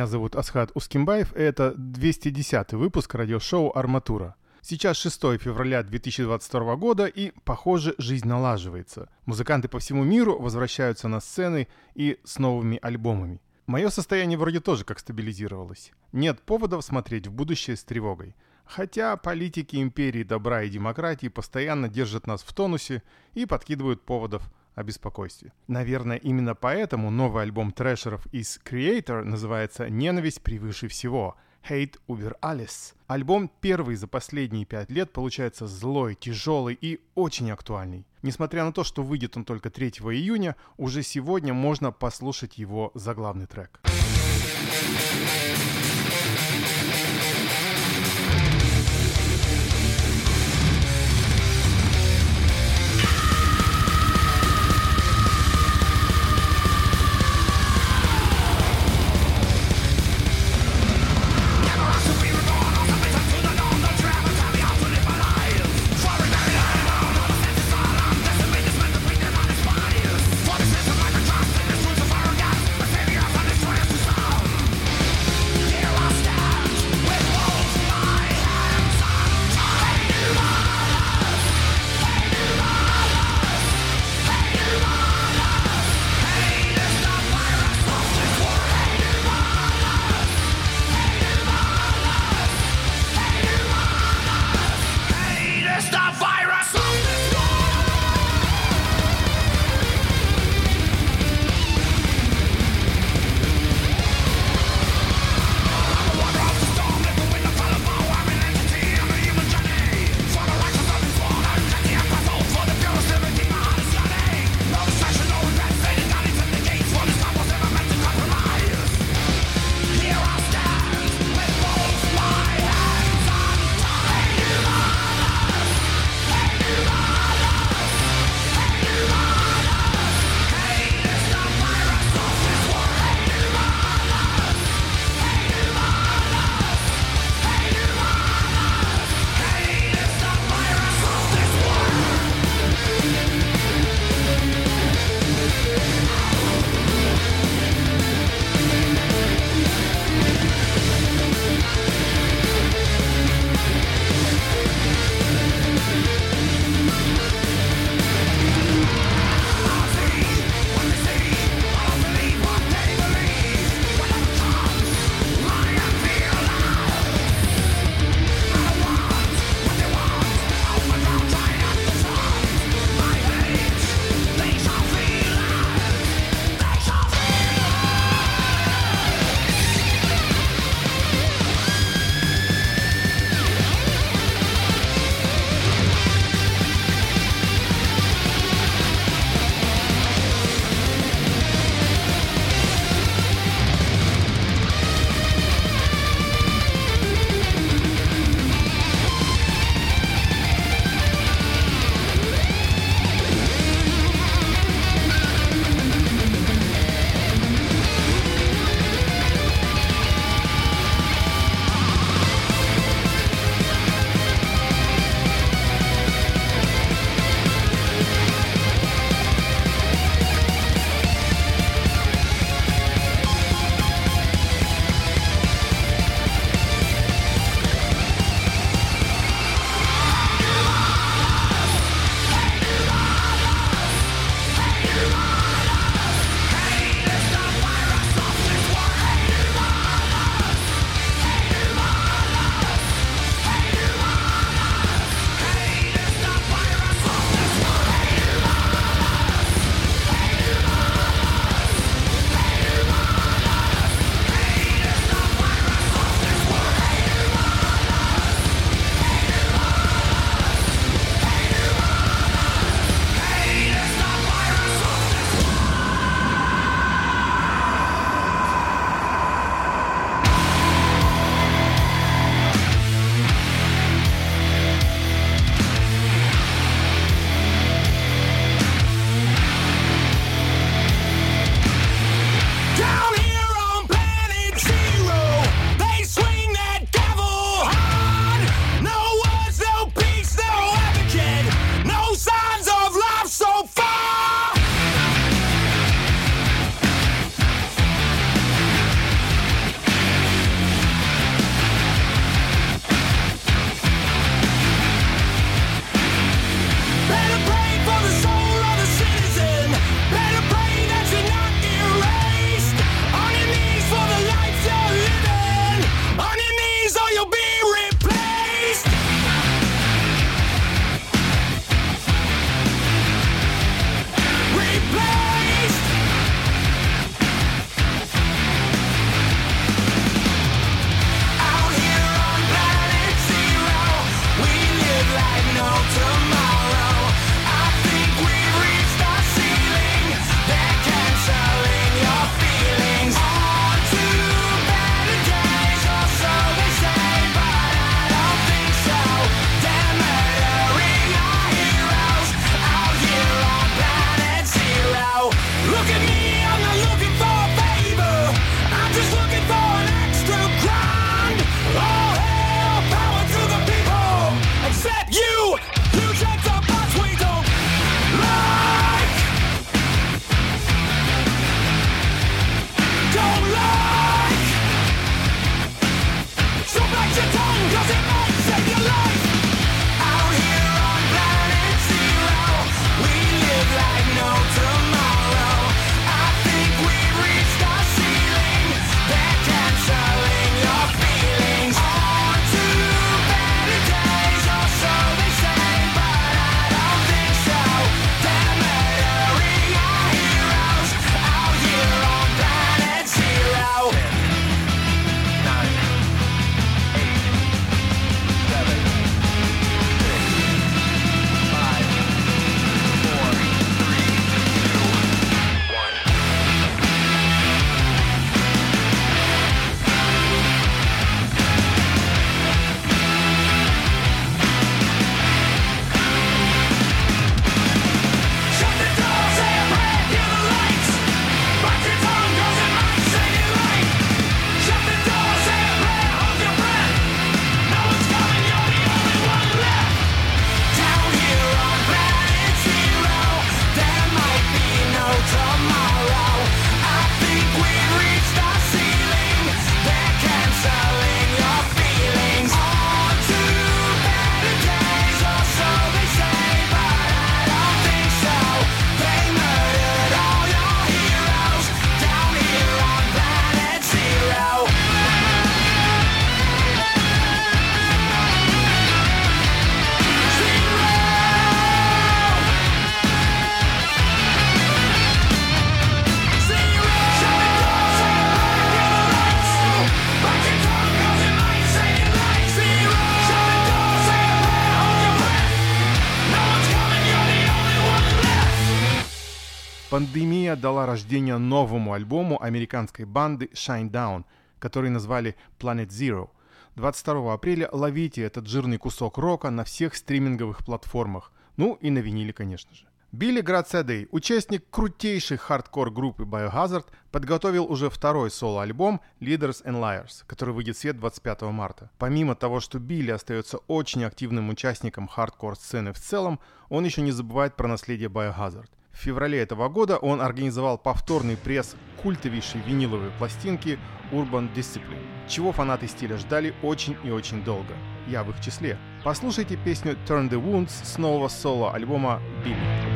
зовут Асхат Ускимбаев, и это 210-й выпуск радиошоу «Арматура». Сейчас 6 февраля 2022 года, и, похоже, жизнь налаживается. Музыканты по всему миру возвращаются на сцены и с новыми альбомами. Мое состояние вроде тоже как стабилизировалось. Нет поводов смотреть в будущее с тревогой. Хотя политики империи добра и демократии постоянно держат нас в тонусе и подкидывают поводов о беспокойстве. Наверное, именно поэтому новый альбом трэшеров из Creator называется «Ненависть превыше всего» – Hate über alles. Альбом первый за последние 5 лет получается злой, тяжелый и очень актуальный. Несмотря на то, что выйдет он только 3 июня, уже сегодня можно послушать его заглавный трек. With Пандемия дала рождение новому альбому американской банды Shinedown, который назвали Planet Zero. 22 апреля ловите этот жирный кусок рока на всех стриминговых платформах. Ну и на виниле, конечно же. Билли Грацадей, участник крутейшей хардкор-группы Biohazard, подготовил уже второй соло-альбом Leaders and Liars, который выйдет в свет 25 марта. Помимо того, что Билли остается очень активным участником хардкор-сцены в целом, он еще не забывает про наследие Biohazard. В феврале этого года он организовал повторный пресс культовейшей виниловой пластинки Urban Discipline, чего фанаты стиля ждали очень и очень долго. Я в их числе. Послушайте песню Turn the Wounds с нового соло-альбома Билли.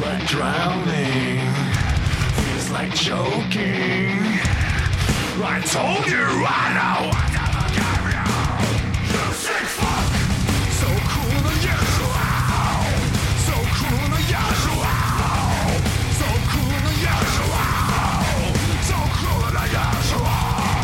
like drowning, feels like choking. I told you I know what to forgive you. You sick fuck. So cool to yes, wow. So cool to yes, wow. So cool to yes, wow. So cool to yes, wow.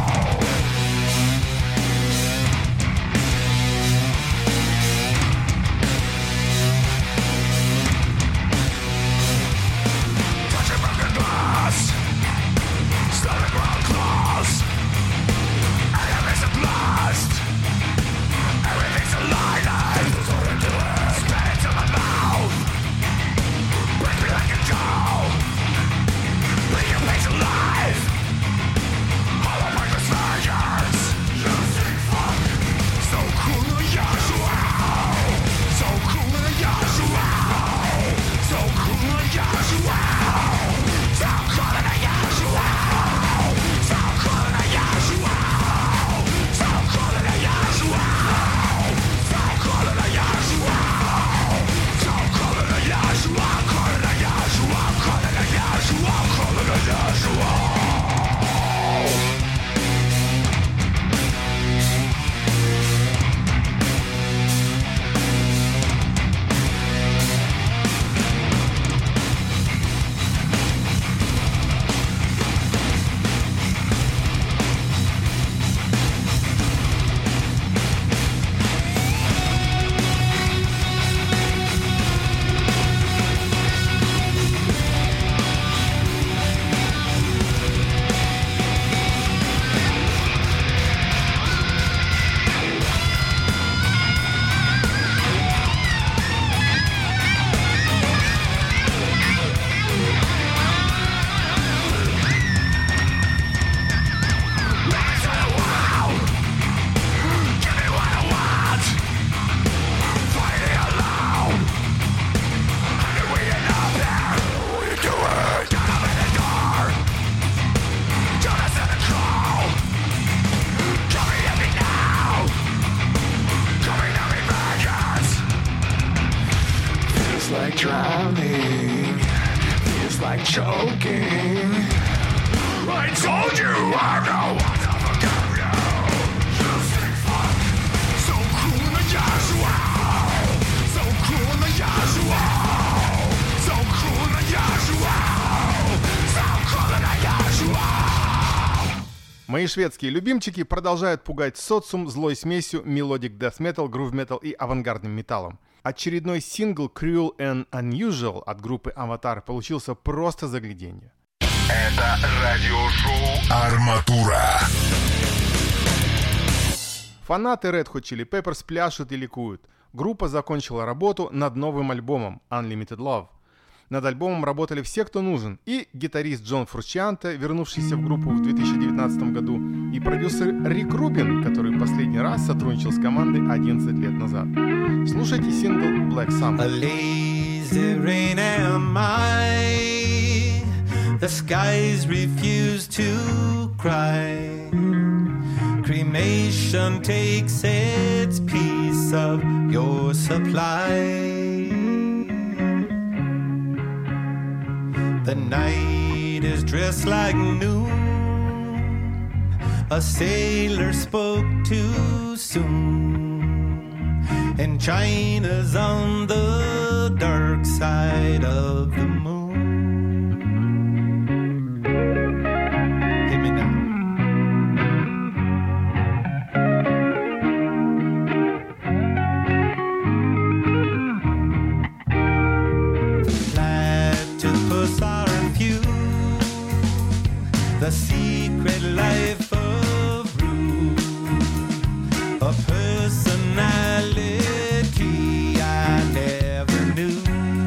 Touching broken glass, slowly ground claws. Enemies are blast. Everything's a lie. There's nothing to it. Spit into my mouth. Break me like a doll. Leave your face alive. Hollow break the surgeons. You sick fuck. So cool to yes, wow. So cool to yes, wow. So cool to yes, wow. So cool to yes, wow. So cool to yes, wow. So cool to yes, wow. So cool to yes, wow. So cool to yes, wow. Cool to yes, wow. Cool to yes, wow. Cool to yes, wow. Like drowning, feels like choking. I told you I know what to forgive you. You sick fuck. So cool to yes, wow. So cool to yes, wow. So cool to yes, wow. So cool to yes, wow. Мои шведские любимчики продолжают пугать социум злой смесью мелодик death metal, groove metal и авангардным металлом. Очередной сингл Cruel and Unusual от группы Avatar получился просто загляденье. Это радиошоу «Арматура». Фанаты Red Hot Chili Peppers пляшут и ликуют. Группа закончила работу над новым альбомом Unlimited Love. Над альбомом работали все, кто нужен. И гитарист Джон Фручианте, вернувшийся в группу в 2019 году, и продюсер Рик Рубин, который последний раз сотрудничал с командой 11 лет назад. Слушайте сингл Black Summer. A lazy rain am I. The skies refuse to cry. Cremation takes its piece of your supply. The night is dressed like noon. A sailor spoke too soon. And China's on the dark side of the moon. Hit me now. Platypus are few. The secret life of Rue. A personality I never knew.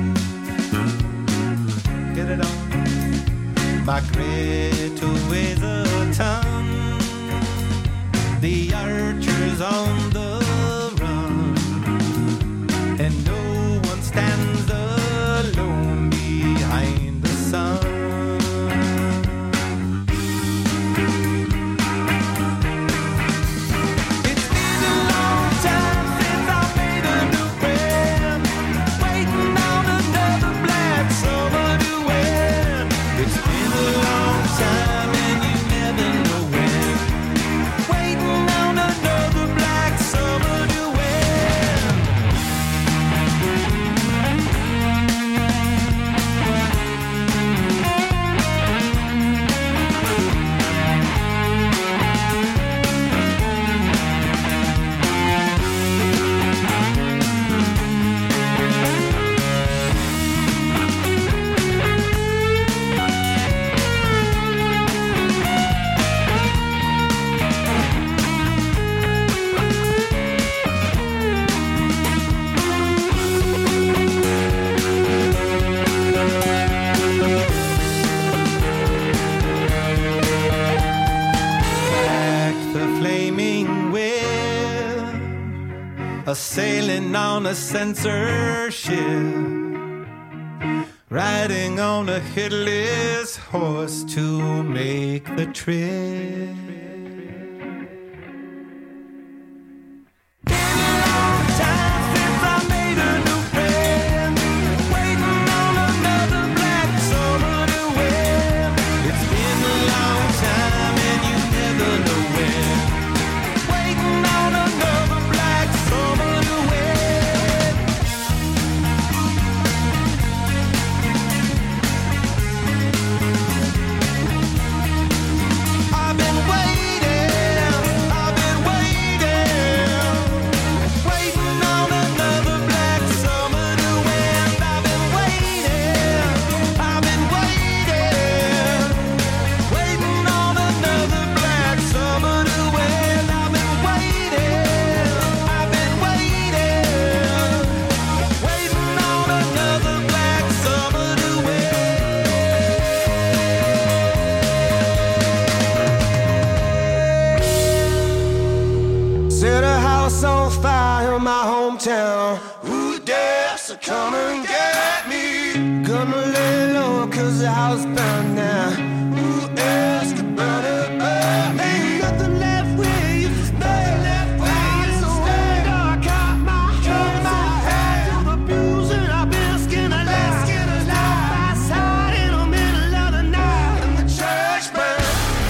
Get it on. Migrate away the tongue. The archers on the run. And no one stands alone behind the sun. Summer. on a censorship, riding on a headless horse to make the trip. Set a house on fire in my hometown. Who dares to come and get me? Gonna lay low cause the house burned down. Who else could burn it, burn me? Ain't nothing left where you used to stay. I caught my head to the pews and I've been skin alive. Outside in the middle of the night and the church burned.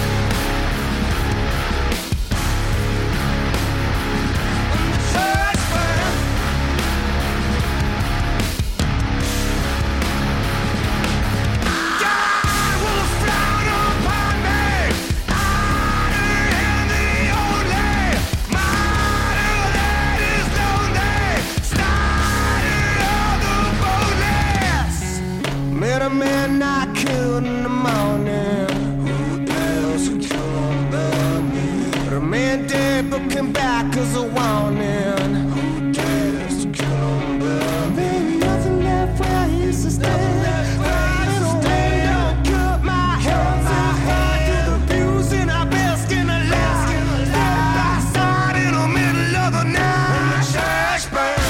Met a man I killed in the morning. Who else could come but me? But a man dead but came back as a warning. Who dares to kill him but me? Ain't nothing left where I used to stay. Don't cut my head to the pews and I bask in the light. Outside in the middle of the night and the church burned.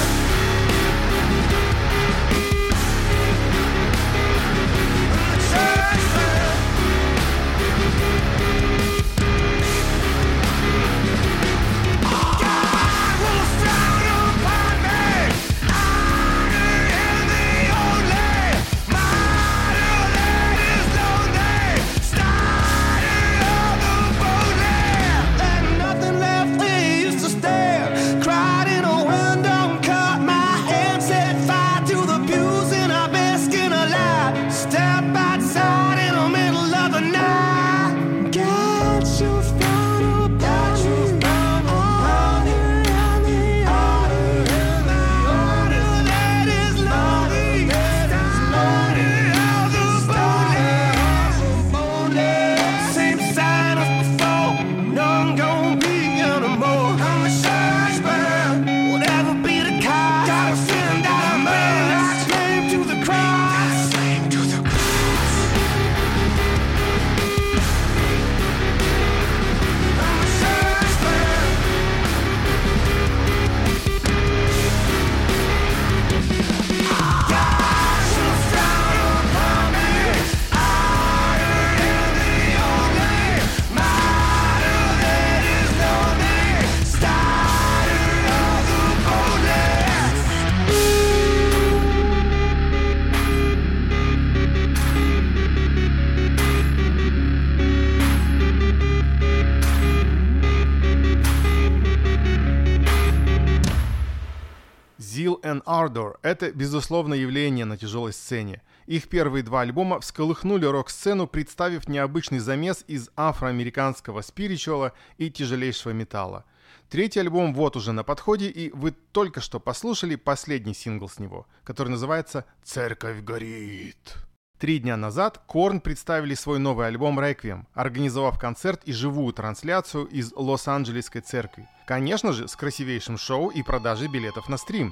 Zeal and Ardor — это, безусловно, явление на тяжелой сцене. Их первые два альбома всколыхнули рок-сцену, представив необычный замес из афроамериканского спиричуала и тяжелейшего металла. Третий альбом вот уже на подходе, и вы только что послушали последний сингл с него, который называется «Церковь горит». 3 дня назад Korn представили свой новый альбом «Requiem», организовав концерт и живую трансляцию из Лос-Анджелесской церкви. Конечно же, с красивейшим шоу и продажей билетов на стрим.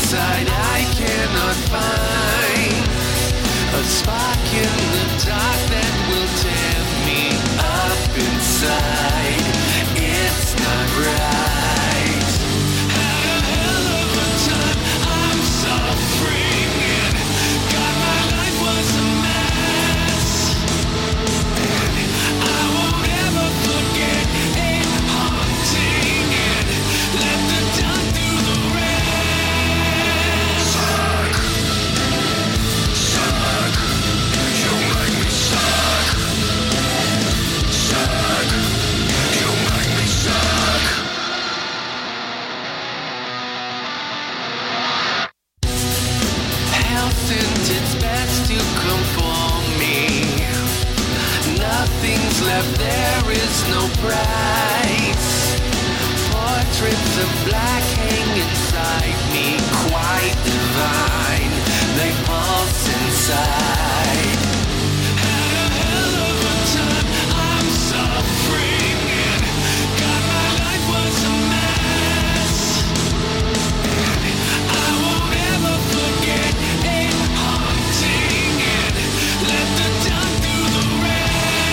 inside I cannot find a spark in the dark that will tear me up inside. It's not right. Had a hell of a time, I'm suffering, and God, my life was a mess. And I won't ever forget it haunting, and let the dark do the rest. Suck, suck, you make me suck. Suck, you make me suck. Health sent its best to conform me. Nothing's left, there is no price. Portraits of black hang inside me, quite divine. They pulse inside. Had a hell of a time, I'm suffering, and God, my life was a mess. And I won't ever forget it haunting, and let the dark do the rest.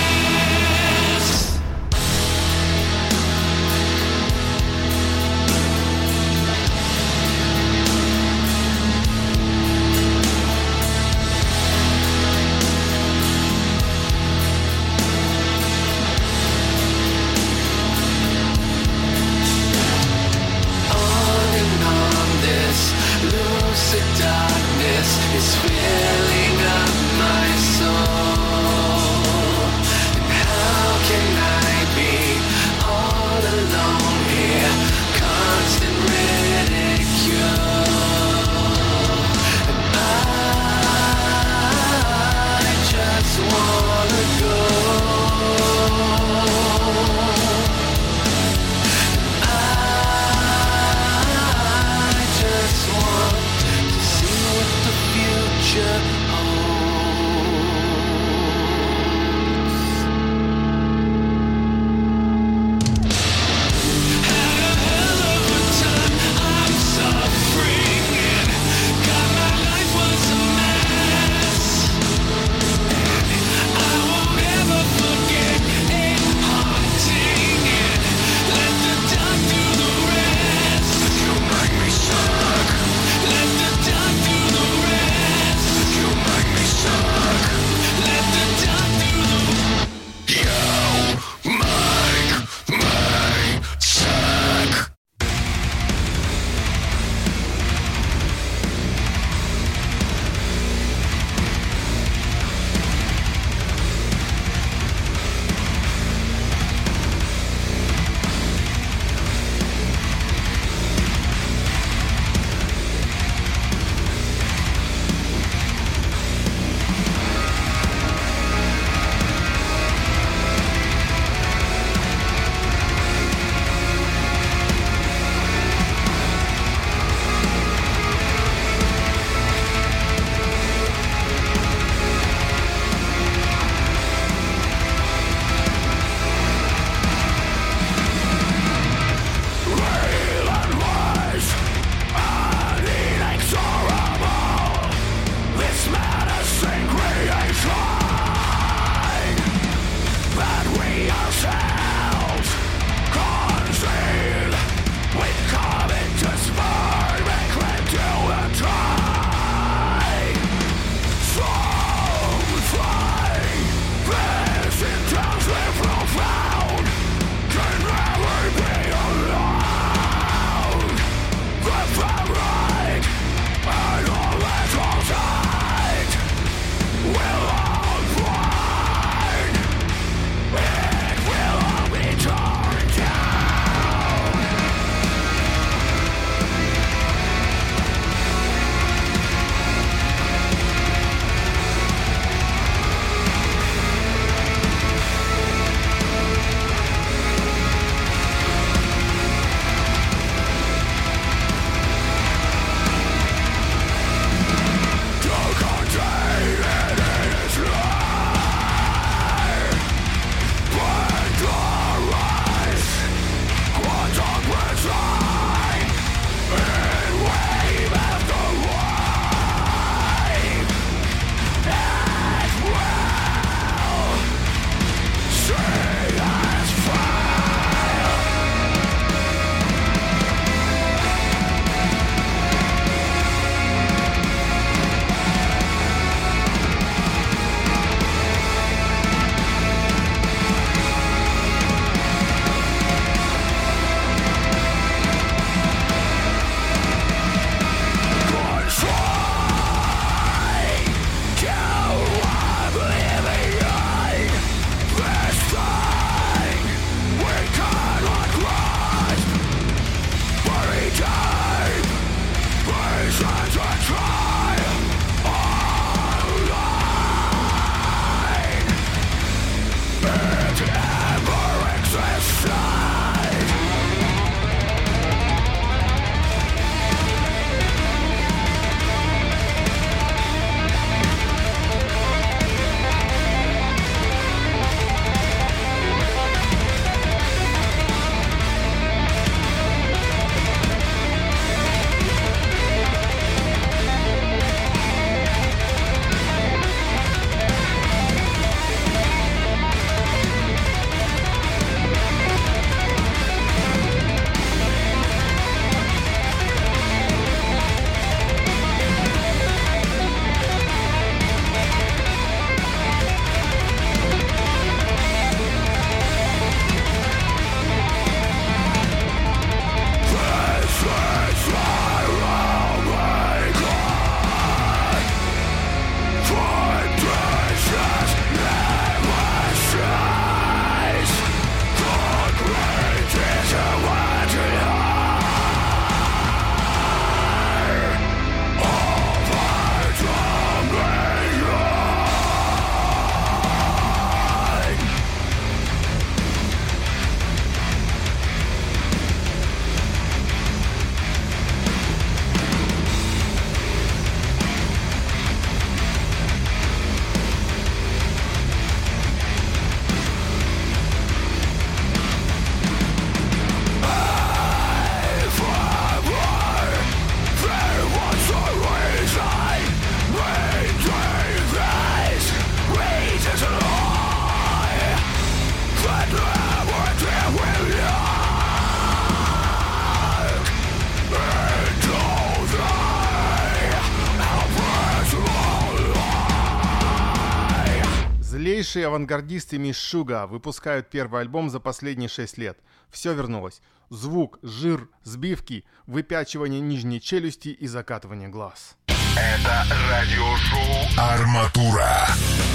Белейшие авангардисты Meshuggah выпускают первый альбом за последние 6 лет. Все вернулось. Звук, жир, сбивки, выпячивание нижней челюсти и закатывание глаз. Это радиошоу «Арматура».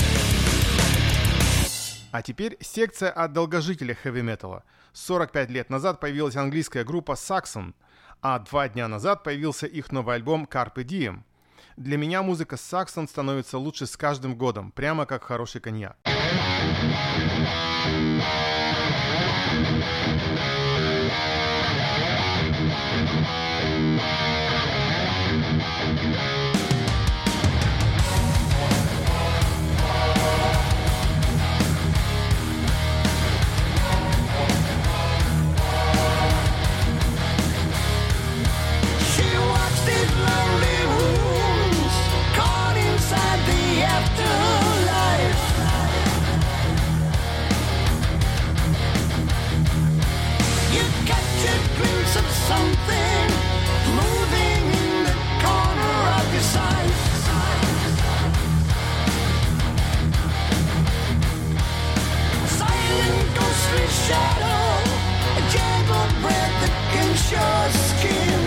А теперь секция от долгожителя хэви-металла. 45 лет назад появилась английская группа Saxon, а 2 дня назад появился их новый альбом Carpe Diem. Для меня музыка Saxon становится лучше с каждым годом, прямо как хороший коньяк. Something moving in the corner of your sight. Silent ghostly shadow, a gentle breath against your skin.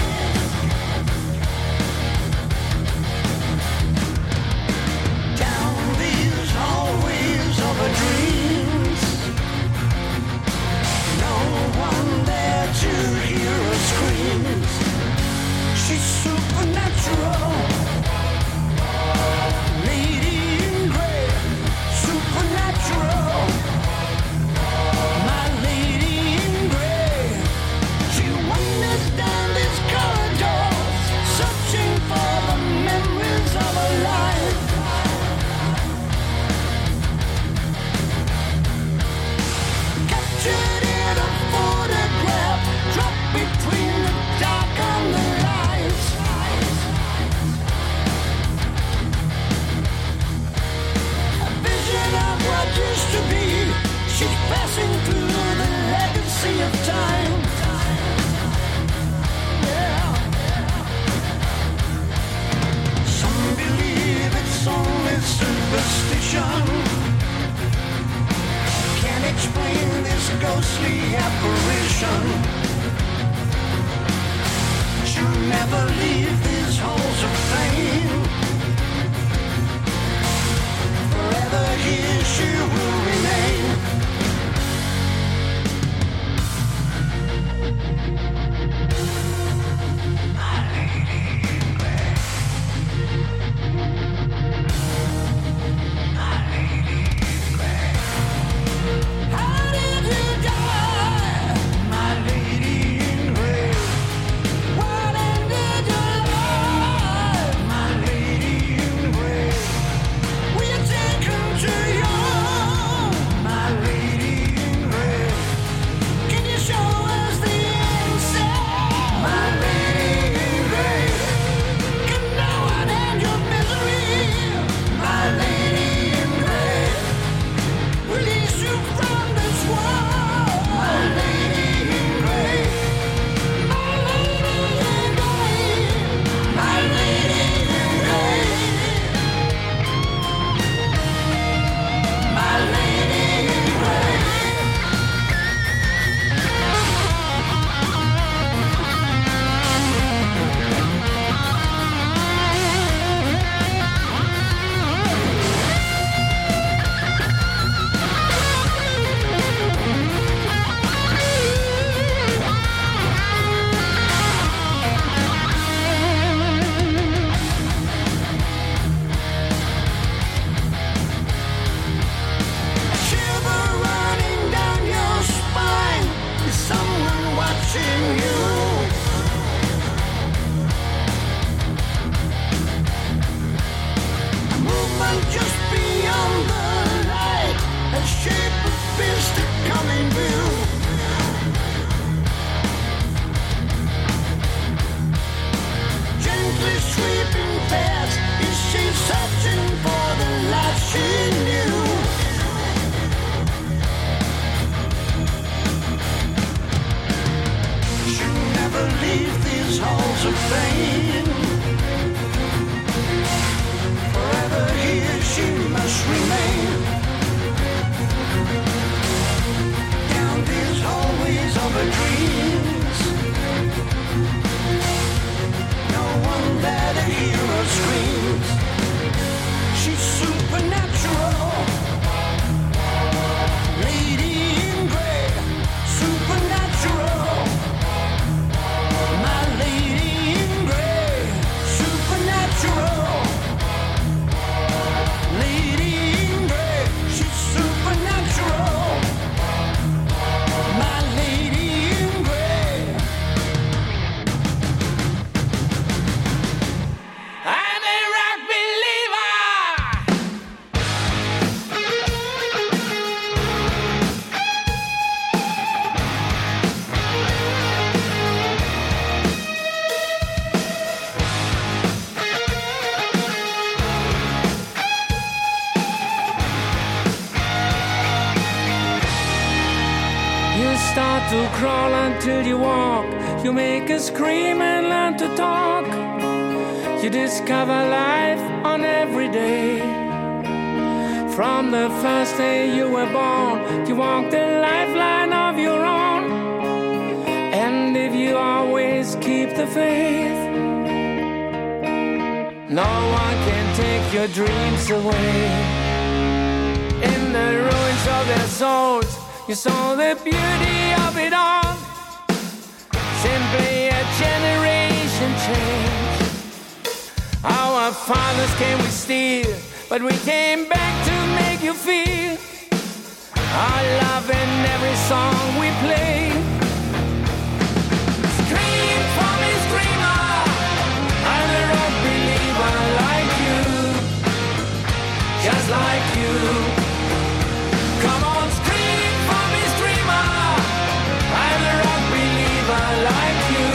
Down these hallways of a dreams, no one there to hear her screams. She's supernatural, lady in gray, supernatural, my lady in gray. She wanders down these corridors, searching for the memories of her life. Captured in a photograph, dropped between the dark and the lights. A vision of what used to be. She's passing through the legacy of time. Yeah. Some believe it's only superstition. Can't explain this ghostly apparition. She'll never leave these halls of fame. Forever here she will remain. My lady in gray. My lady in gray. How did you die, my lady in gray? What ended your life, my lady in gray? Were you taken too young, my lady in gray? Can you show us the answer, my lady in gray? Can no one end your misery, my lady in gray? Release you from this world, my lady in gray. My lady in gray. My lady in gray. My lady in gray. A shiver running down your spine. Is someone watching you? A movement just beyond the light. A shape of beast to come in view. Gently sweeping past. Is she searching for the life she knew? She'll never leave these halls of fame. Forever here she must remain. dreams. She's supernatural, lady in gray, supernatural. My lady in gray, supernatural. Lady in gray, she's supernatural. My lady in gray. I'm a rock believer. You start to crawl until you walk. You make a scream and learn to talk. You discover life on every day. From the first day you were born, you walk the lifeline of your own. And if you always keep the faith, no one can take your dreams away. In the ruins of their souls, you saw the beauty of it all. Simply a generation change. Our fathers came with steel, but we came back to make you feel our love in every song we play. Scream for me, screamer, I'm a rock believer like you, just like you. Come on, scream for me, screamer, I'm a rock believer like you,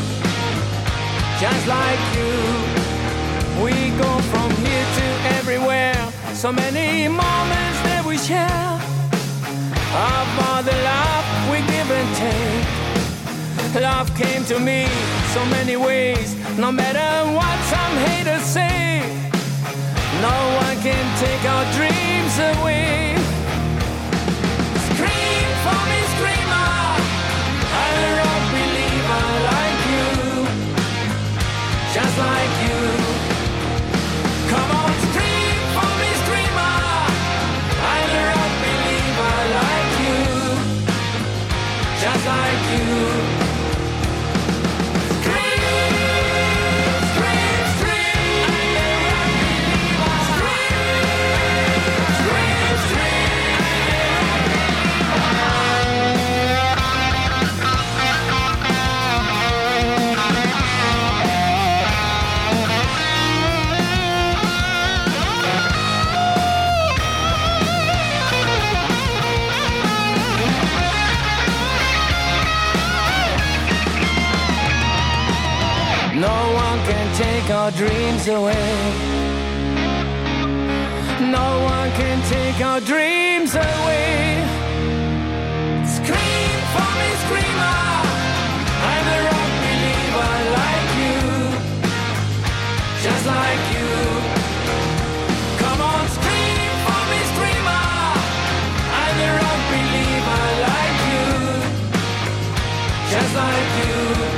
just like you. We go from here to everywhere, so many moments that we share, of all the love we give and take. Love came to me so many ways, no matter what some haters say. No one can take our dreams away. Scream for me, screamer, I'm a rock believer like you, just like you. Come on, scream for me, screamer, I'm a rock believer like you, just like you. Scream, scream, scream, I'm a rock believer. Scream, scream, scream, no one can take our dreams away. No one can take our dreams away. Scream for me, screamer, I'm a rock believer like you, just like you. Come on, scream for me, screamer, I'm a rock believer like you, just like you.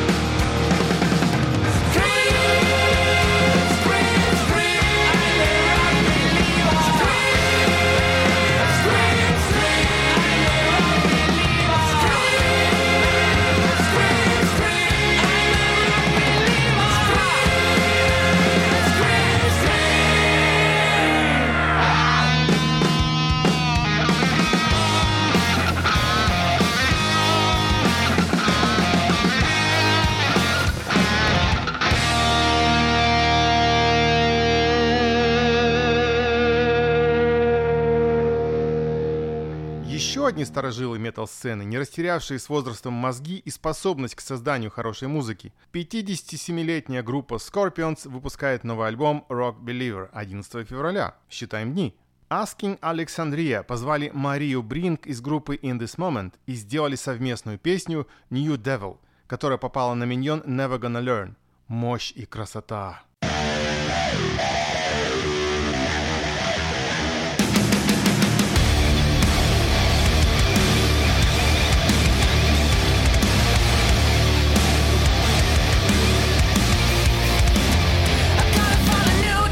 Еще одни старожилы метал-сцены, не растерявшие с возрастом мозги и способность к созданию хорошей музыки. 57-летняя группа Scorpions выпускает новый альбом Rock Believer 11 февраля. Считаем дни. Asking Alexandria позвали Марию Бринк из группы In This Moment и сделали совместную песню New Devil, которая попала на миньон Never Gonna Learn. Мощь и красота. I gotta find a new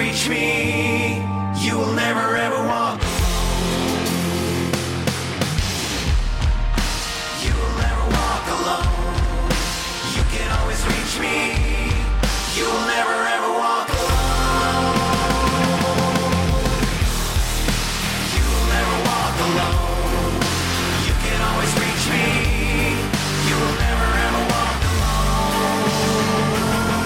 reach me. You will never ever walk. You will never walk alone. You can always reach me. You will never ever walk alone. You will never walk alone. You can always reach me. You will never ever walk alone.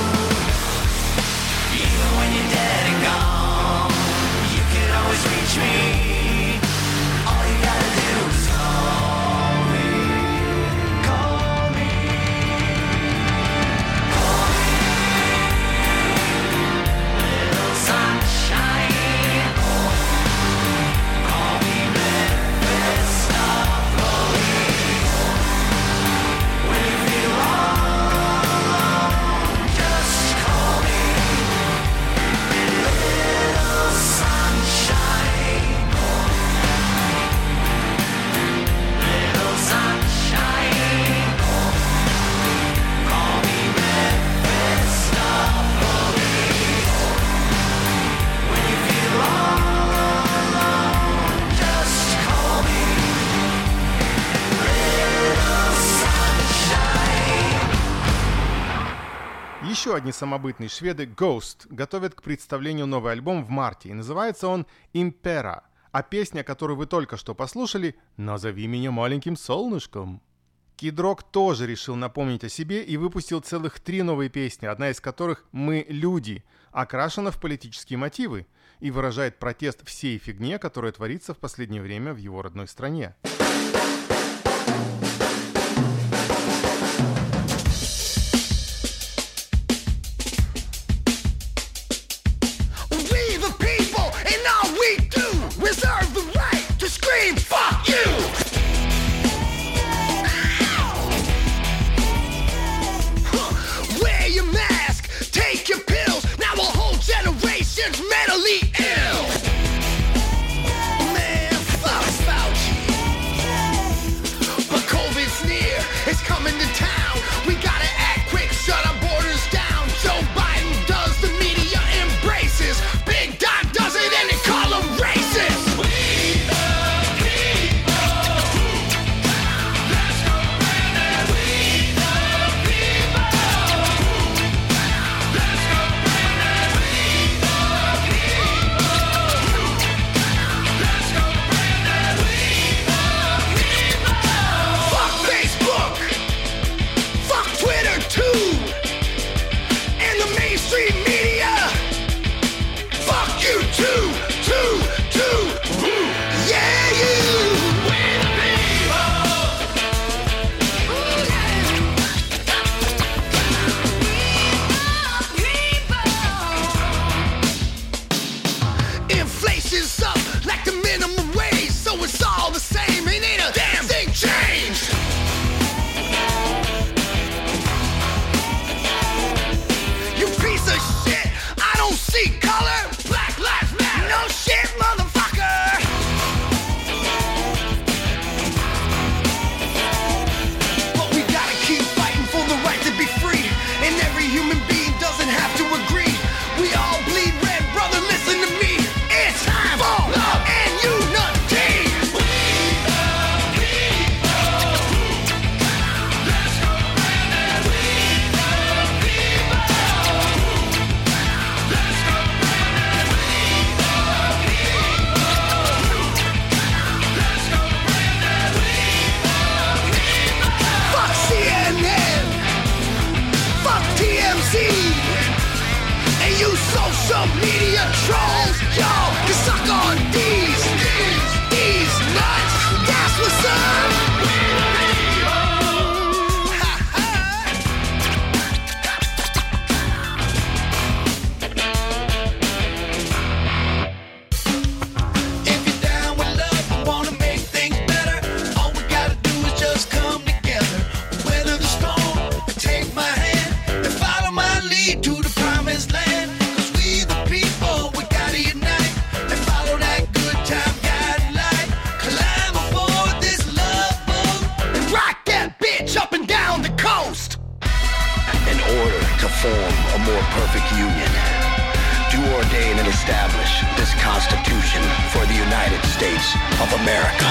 Even when you're dead and gone, you can always reach me. All you gotta do is call me. Call me. Call me. Little sunshine. Call me Mephistopheles. When you feel all alone, just call me. Little sunshine. Little sunshine. Call me Mephistopheles. When you feel all alone, just call me. Little sunshine. Еще одни самобытные шведы Ghost готовят к представлению новый альбом в марте, и называется он Impera, а песня, которую вы только что послушали, «Назови меня маленьким солнышком». Kid Rock тоже решил напомнить о себе и выпустил целых 3 новые песни, одна из которых «Мы люди», окрашена в политические мотивы и выражает протест всей фигне, которая творится в последнее время в его родной стране. We the people, and all we do, reserve the right to scream, fuck you! Wear your mask, take your pills, now a whole generation's mentally ill. Man, fuck Fauci. sustain and establish this Constitution for the United States of America.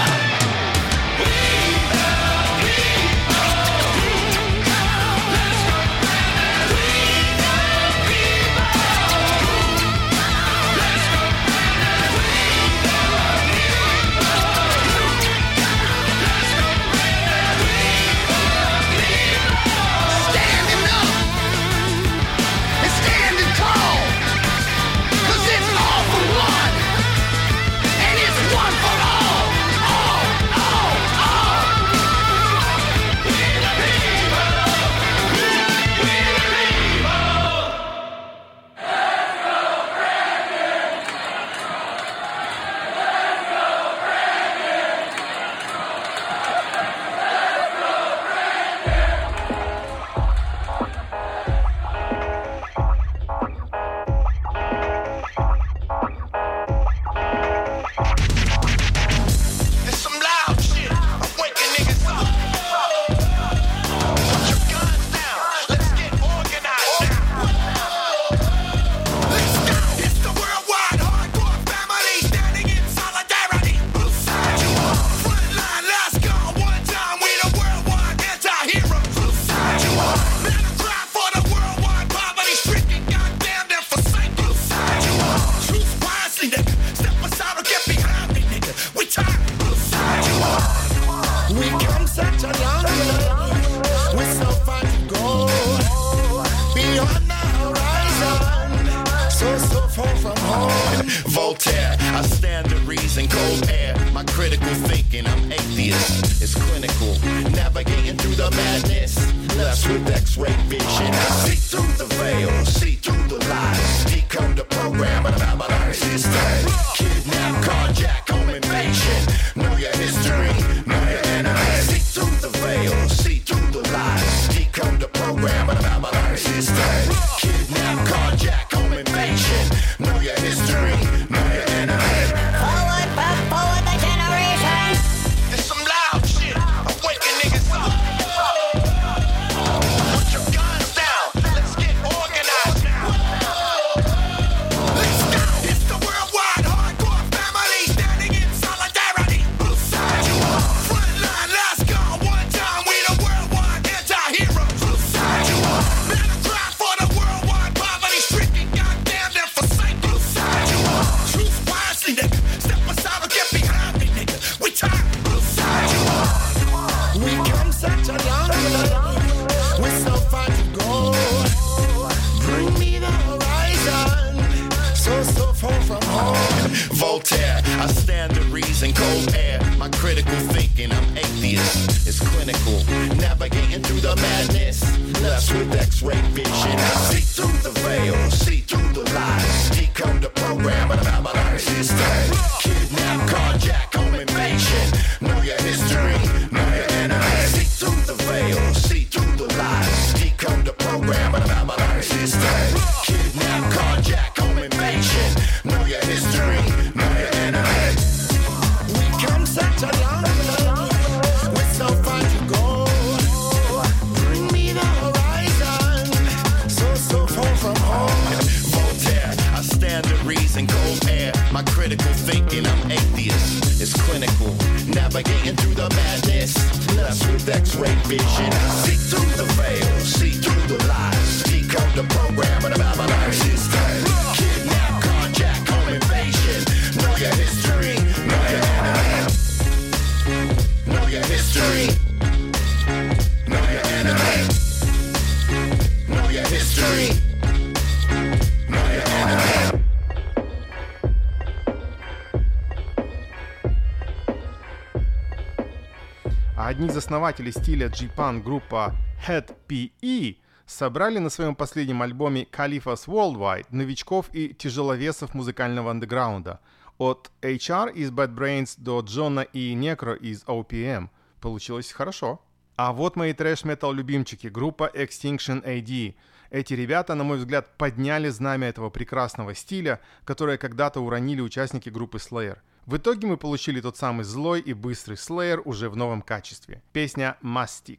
Одни из основателей стиля G-Punk, группа Hed PE, собрали на своем последнем альбоме Caliphas Worldwide новичков и тяжеловесов музыкального андеграунда. От HR из Bad Brains до Джона и Necro из OPM. Получилось хорошо. А вот мои трэш-метал любимчики, группа Extinction AD. Эти ребята, на мой взгляд, подняли знамя этого прекрасного стиля, которое когда-то уронили участники группы Slayer. В итоге мы получили тот самый злой и быстрый Slayer уже в новом качестве. Песня «Mastic».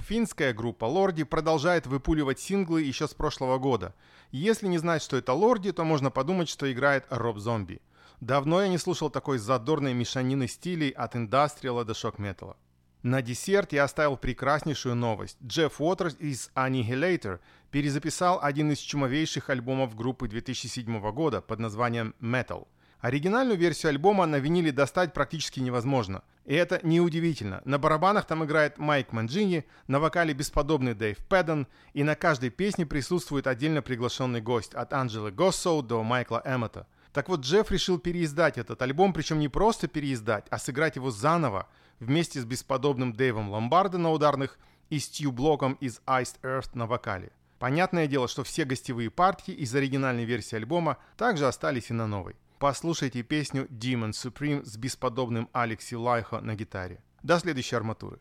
Финская группа Lordi продолжает выпуливать синглы еще с прошлого года. Если не знать, что это Lordi, то можно подумать, что играет Роб Зомби. Давно я не слушал такой задорной мешанины стилей от индастриала до шок-металла. На десерт я оставил прекраснейшую новость. Джефф Уотерс из Annihilator перезаписал один из чумовейших альбомов группы 2007 года под названием Metal. Оригинальную версию альбома на виниле достать практически невозможно. И это неудивительно. На барабанах там играет Майк Манджини, на вокале бесподобный Дэйв Пэдден, и на каждой песне присутствует отдельно приглашенный гость, от Анджелы Госсоу до Майкла Эммета. Так вот, Джефф решил переиздать этот альбом, причем не просто переиздать, а сыграть его заново, вместе с бесподобным Дэйвом Ломбардо на ударных и Стью Блоком из Iced Earth на вокале. Понятное дело, что все гостевые партии из оригинальной версии альбома также остались и на новой. Послушайте песню Demon Supreme с бесподобным Алекси Лайхо на гитаре. До следующей арматуры.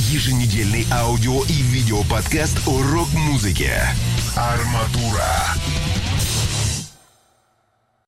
еженедельный аудио и видео подкаст о рок-музыке. Арматура.